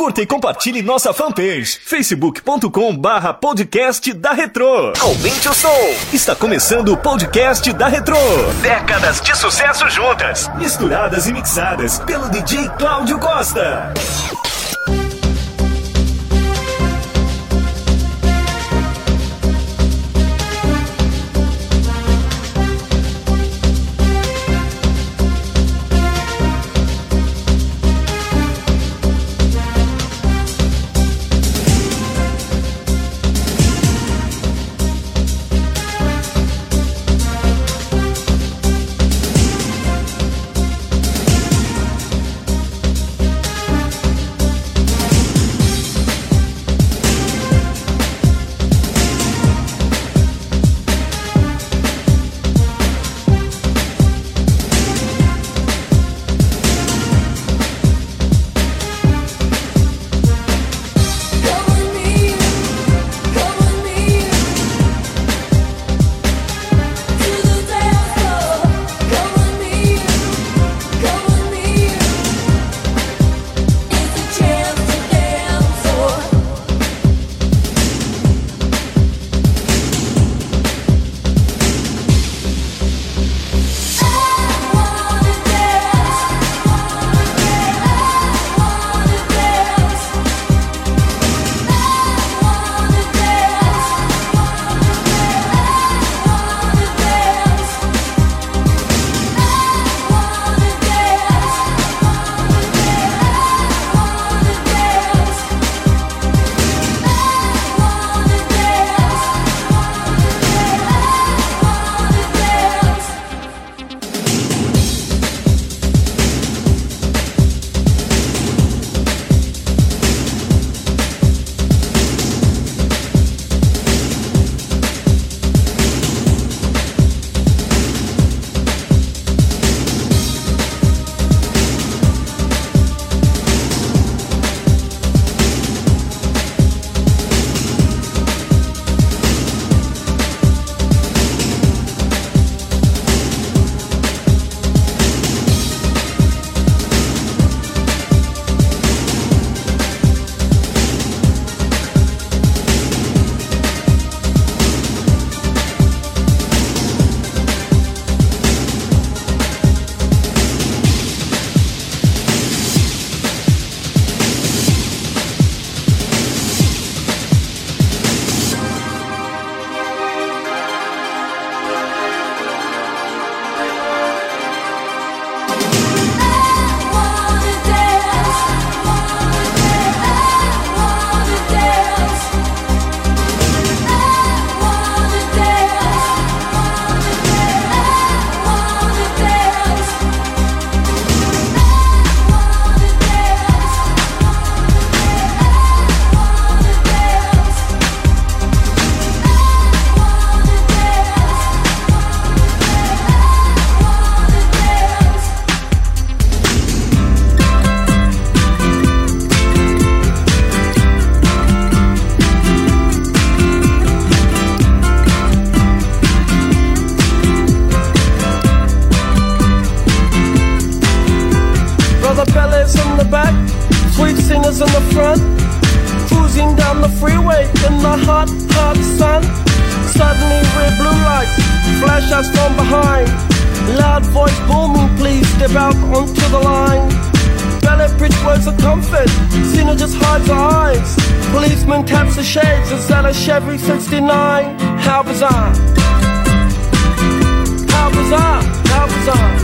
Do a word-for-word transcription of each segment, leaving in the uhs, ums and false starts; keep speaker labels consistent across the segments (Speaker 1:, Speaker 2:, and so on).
Speaker 1: Curta e compartilhe nossa fanpage, facebook ponto com barra podcast da Retrô. Aumente o som. Está começando o podcast da Retrô. Décadas de sucesso juntas, misturadas e mixadas pelo D J Cláudio Costa.
Speaker 2: Chevy sixty-nine, how bizarre, how bizarre, how bizarre.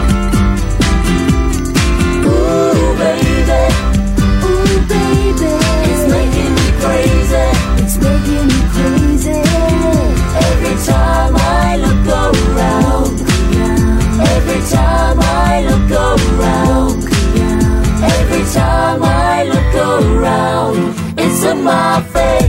Speaker 3: Ooh baby, ooh baby, it's making me crazy, it's making me crazy. Every time I look around, every time I look around, every time I look around, it's in my face.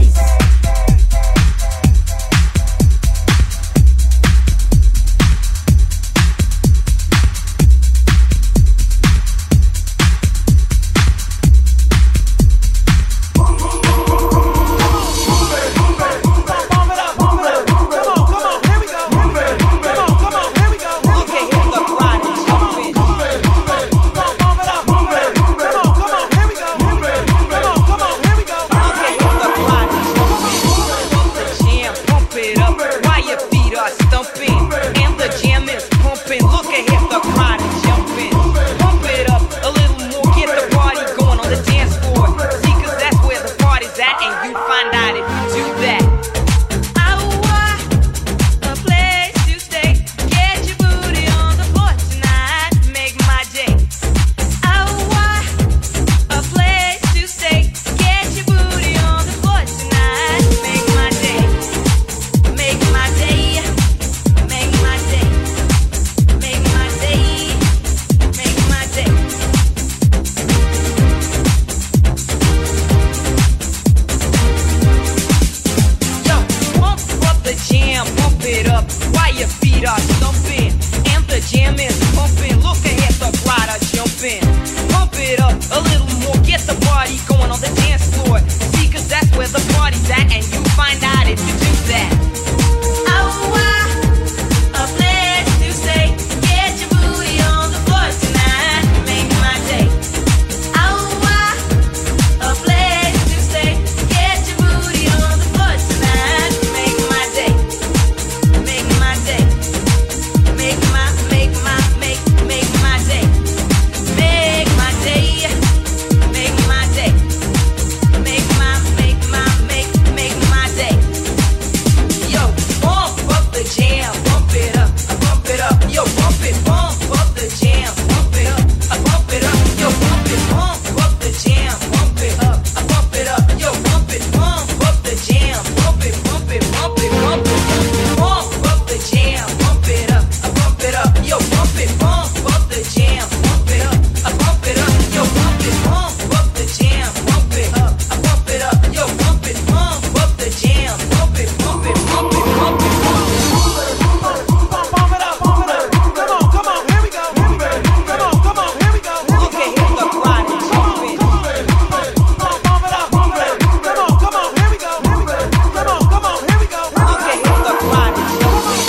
Speaker 4: where the party's at, and you find out if you do that. Oh, wow, a place to stay. Get your booty on the floor tonight, make my day. Oh, wow, a place to stay. Get your booty on the floor tonight, make my day. Make my day. Make my, make my, make, make my day. Make my day. Make my day. Make my, make my, make, make my day. Yo, bump up the jam, bump it up, bump it up. Yo, bump it, bump up the jam, bump it up, bump it up. Yo, bump it, bump up the jam, bump it up, bump it up. Yo, bump it, bump up the jam, bump it, bump it, bump it, bump it, bump up the jam, bump it up, bump it up. Yo, bump it, bump up the jam, bump it up, bump it up. Yo, bump it, bump up the jam, bump it up, bump it up. Yo, bump it, bump up the jam, bump it, bump it, bump it, bump it, bump it.
Speaker 2: Bump it up, bump it up. Come on, come on, here we go. Come on, come on, here we go.
Speaker 4: Okay, here's the party. Jump it.
Speaker 2: Bump it up, bump it up. Come on, come on, here we go. Come on, come on, here we go.
Speaker 4: Okay, here's the party. Jump it.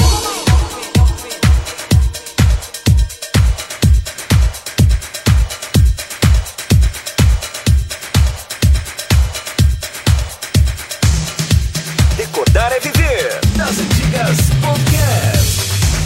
Speaker 1: Recordar é viver. Das antigas podcast.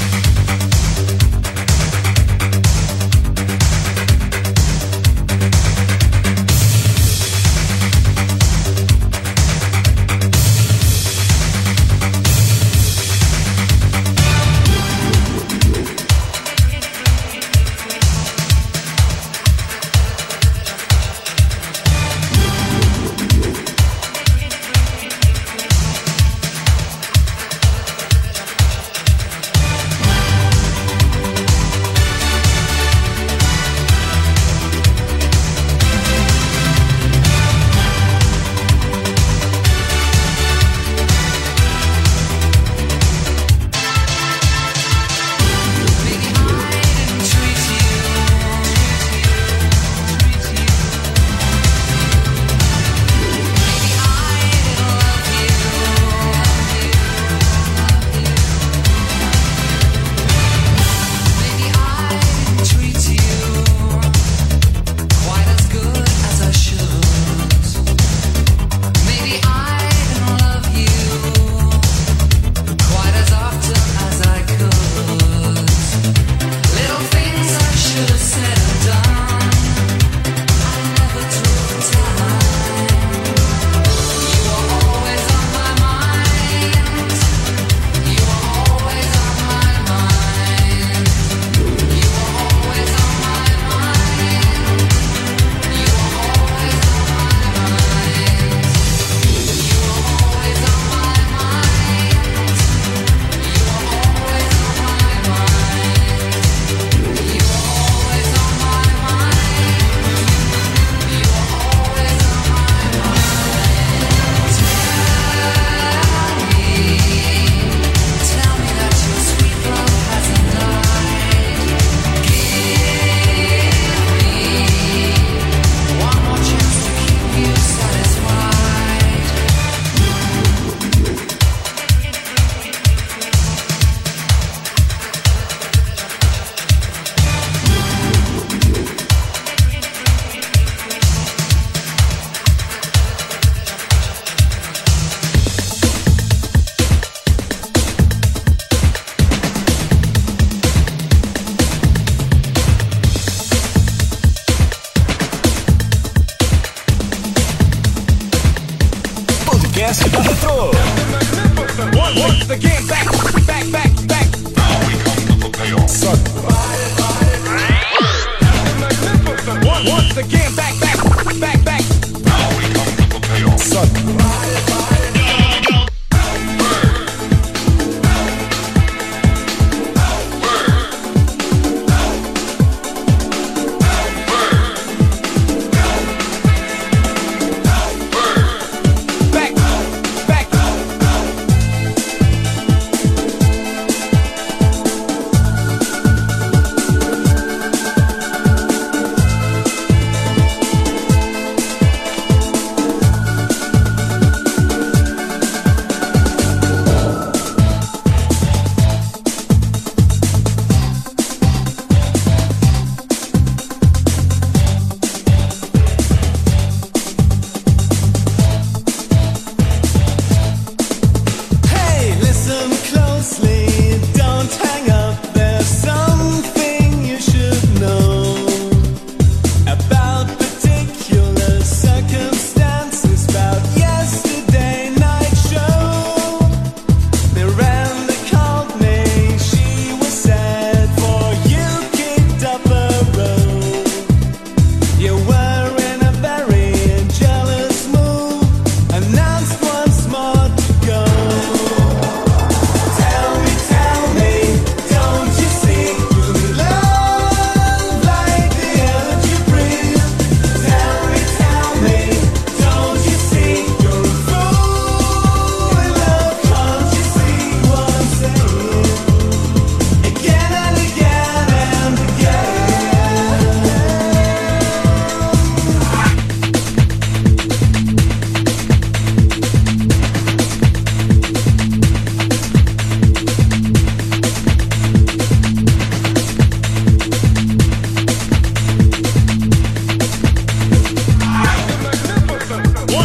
Speaker 1: Podcast da Retro.
Speaker 2: Once again, back, back, back, back.
Speaker 5: Now we come to the payoff.
Speaker 2: Once again, back, back, back, back.
Speaker 5: Now we come to the payoff.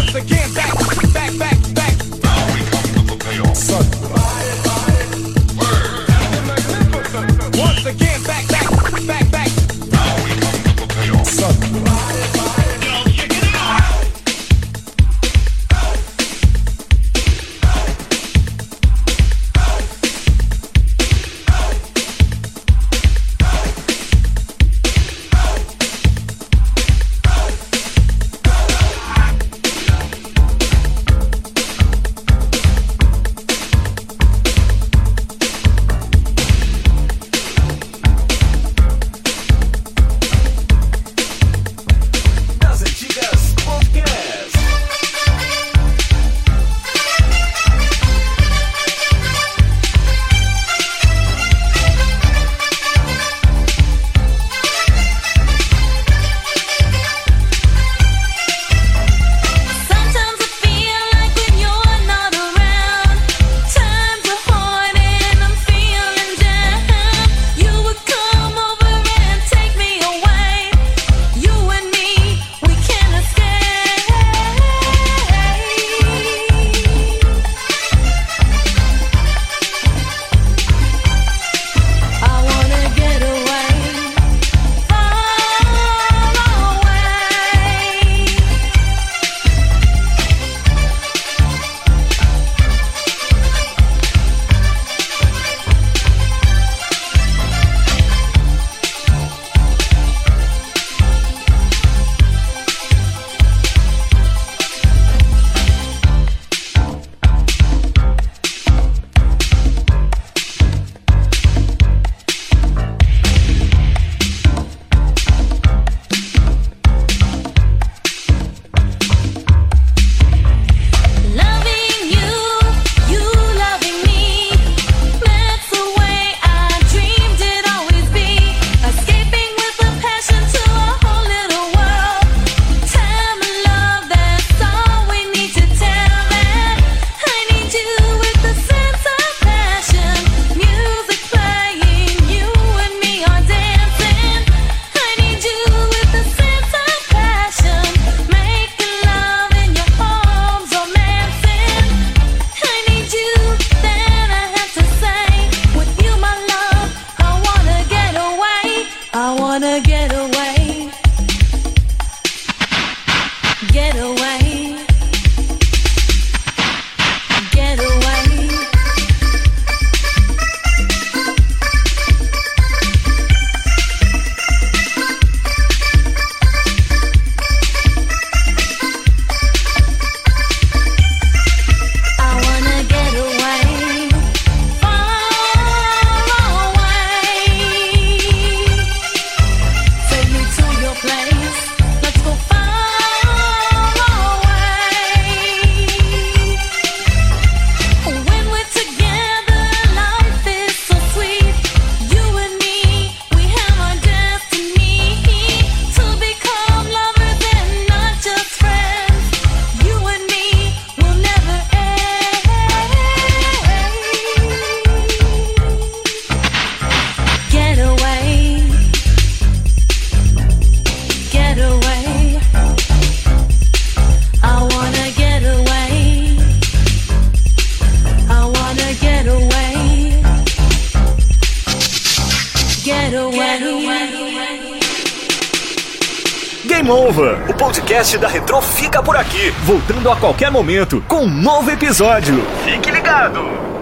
Speaker 2: Once again, back, back, back, back.
Speaker 5: Now we come to the payoff.
Speaker 2: Son. Once again, back, back, back, back.
Speaker 5: Now we come to the payoff.
Speaker 2: Son.
Speaker 1: Game Over, o podcast da Retrô fica por aqui, voltando a qualquer momento com um novo episódio. Fique ligado!